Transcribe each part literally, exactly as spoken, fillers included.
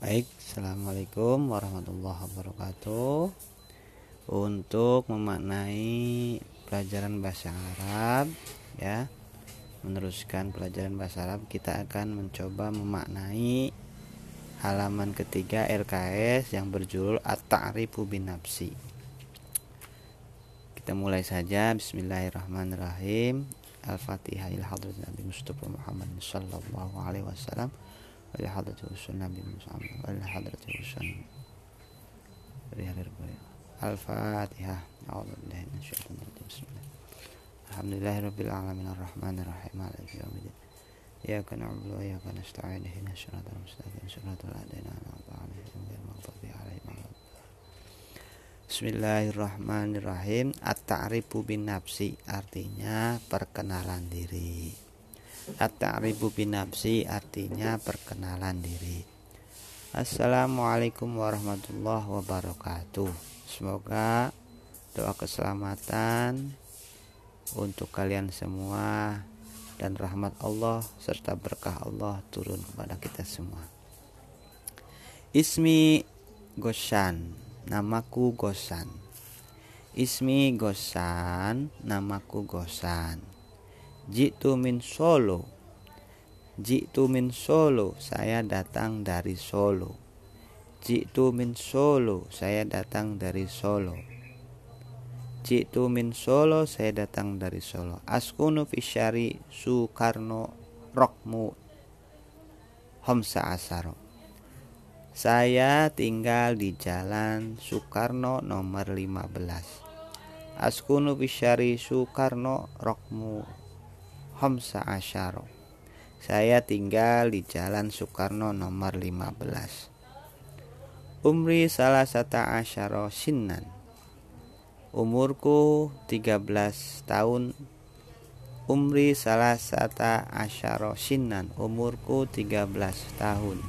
Baik, assalamualaikum warahmatullahi wabarakatuh. Untuk memaknai pelajaran bahasa Arab, ya, meneruskan pelajaran bahasa Arab, kita akan mencoba memaknai halaman ketiga L K S yang berjudul At-Ta'rifu bin Nafsi. Kita mulai saja. Bismillahirrahmanirrahim. Al-Fatihah ila hadrat Nabi Mustafa Muhammad sallallahu alaihi wasallam. Wa hadratu Nabi Muhammad wa hadratu Al-Fatihah. A'udzubillahi minasyaitonir rajim. Bismillah. Alhamdulillahirabbil alamin arrahmanir rahim maliki yaumiddin. Iyyaka na'budu wa iyyaka nasta'in ihdinas siratal mustaqim siratal ladzina an'amta 'alaihim ghairil maghdubi 'alaihim waladdallin. Bismillahirrahmanirrahim. At-ta'rifu bin nafsi artinya perkenalan diri. At-ta'rifu bin nafsi artinya perkenalan diri. Assalamualaikum warahmatullahi wabarakatuh. Semoga doa keselamatan untuk kalian semua dan rahmat Allah serta berkah Allah turun kepada kita semua. Ismi Gosan, namaku Gosan. Ismi Gosan, namaku Gosan. Jitu min Solo. Jitu min Solo, saya datang dari Solo. Jitu min Solo, saya datang dari Solo. Jitu min Solo, saya datang dari Solo. Askunu fisyari Soekarno Rokmu Homsa Asaro. Saya tinggal di Jalan Soekarno nomor lima belas. Askunu fisyari Soekarno Rokmu Homsa Asyaro. Saya tinggal di Jalan Soekarno nomor lima belas. Umri salah sata asyaro sinnan. Umurku tiga belas tahun. Umri salah sata asyaro sinnan. Umurku tiga belas tahun.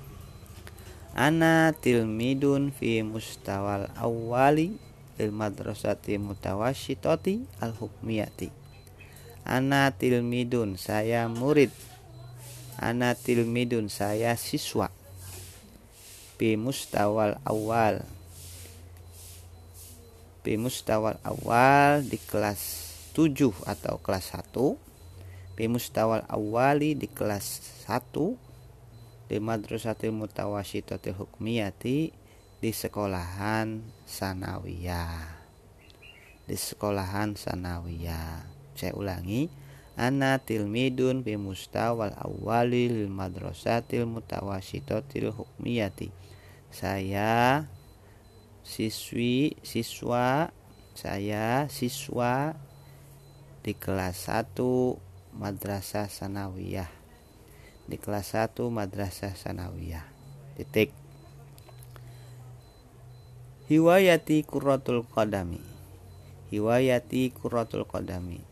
Ana tilmidun fi mustawal awwali il madrasati mutawasyitati al hukmiyati. Ana tilmidun, saya murid. Ana tilmidun, saya siswa. Bi mustawal awal. Bi mustawal awal di kelas tujuh atau kelas satu. Bi mustawal awali di kelas satu. Di madrasatil mutawasyitatil hukmiyati, di sekolahan sanawiyah. Di sekolahan sanawiyah. Saya ulangi, ana tilmidun bi mustawal awwali lil madrasatil mutawasyitatil hukmiyati. Saya siswi siswa saya siswa di kelas satu madrasah sanawiyah. Di kelas satu madrasah sanawiyah. Titik. Hiwayati qurratul qadami. Hiwayati qurratul qadami.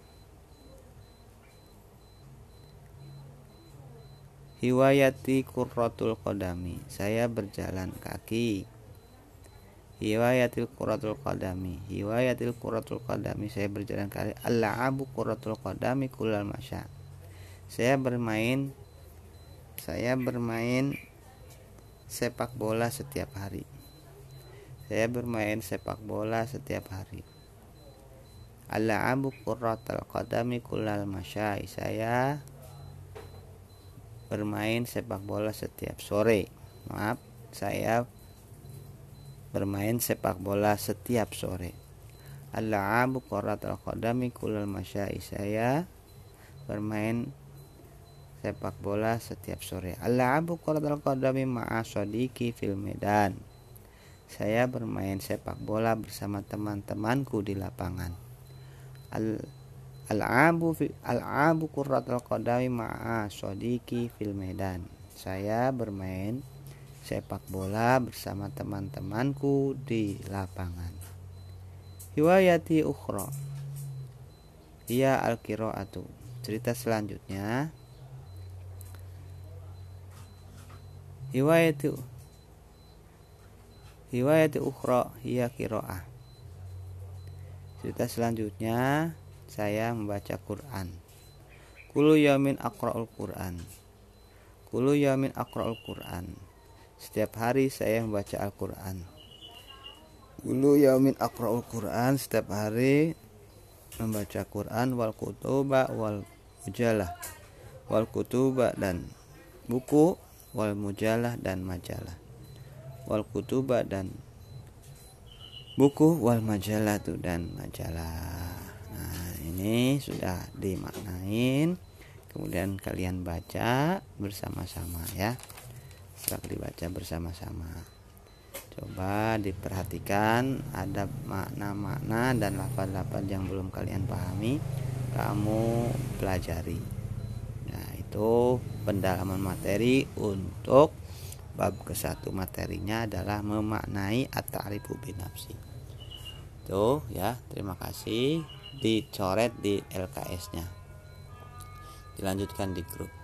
Hiwayati qurratul qadami, saya berjalan kaki. Hiwayatil qurratul qadami, hiwayatil qurratul qadami, saya berjalan kaki. Al-la'abu qurratul qadami kullal masya. Saya bermain saya bermain sepak bola setiap hari. Saya bermain sepak bola setiap hari. Al-la'abu qurratul qadami kullal masya. Saya bermain sepak bola setiap sore. Maaf, saya bermain sepak bola setiap sore. Al-la'abu qurratul qadami kullal masya'i. Saya bermain sepak bola setiap sore. Al-la'abu qurratul qadami ma'a shadiki fil medan. Saya bermain sepak bola bersama teman-temanku di lapangan. Al Al-abu fi al-abu qurratul qadami ma'a shadiki fil medan. Saya bermain sepak bola bersama teman-temanku di lapangan. Hiwayati ukhra hiya al-qira'atu. Cerita selanjutnya. Hiwayati Hiwayati ukhra hiya qira'ah. Cerita selanjutnya, saya membaca Quran. Kullu yaumin aqra'ul Quran. Kullu yaumin aqra'ul Quran. setiap hari saya membaca Al-Quran. Kullu yaumin aqra'ul Quran, setiap hari membaca Quran. Wal kutuba wal mujallah, wal kutuba dan buku, wal mujallah dan majalah. Wal kutuba dan buku, wal majalah tuh dan majalah. Nah, ini sudah dimaknain. Kemudian kalian baca bersama-sama ya. Setelah dibaca bersama-sama, coba diperhatikan ada makna-makna dan lafaz-lafaz yang belum kalian pahami, kamu pelajari. Nah, itu pendalaman materi untuk bab ke satu. Materinya adalah memaknai at-ta'rifu binafsi. Tuh ya, terima kasih. Dicoret di L K S-nya. Dilanjutkan di grup.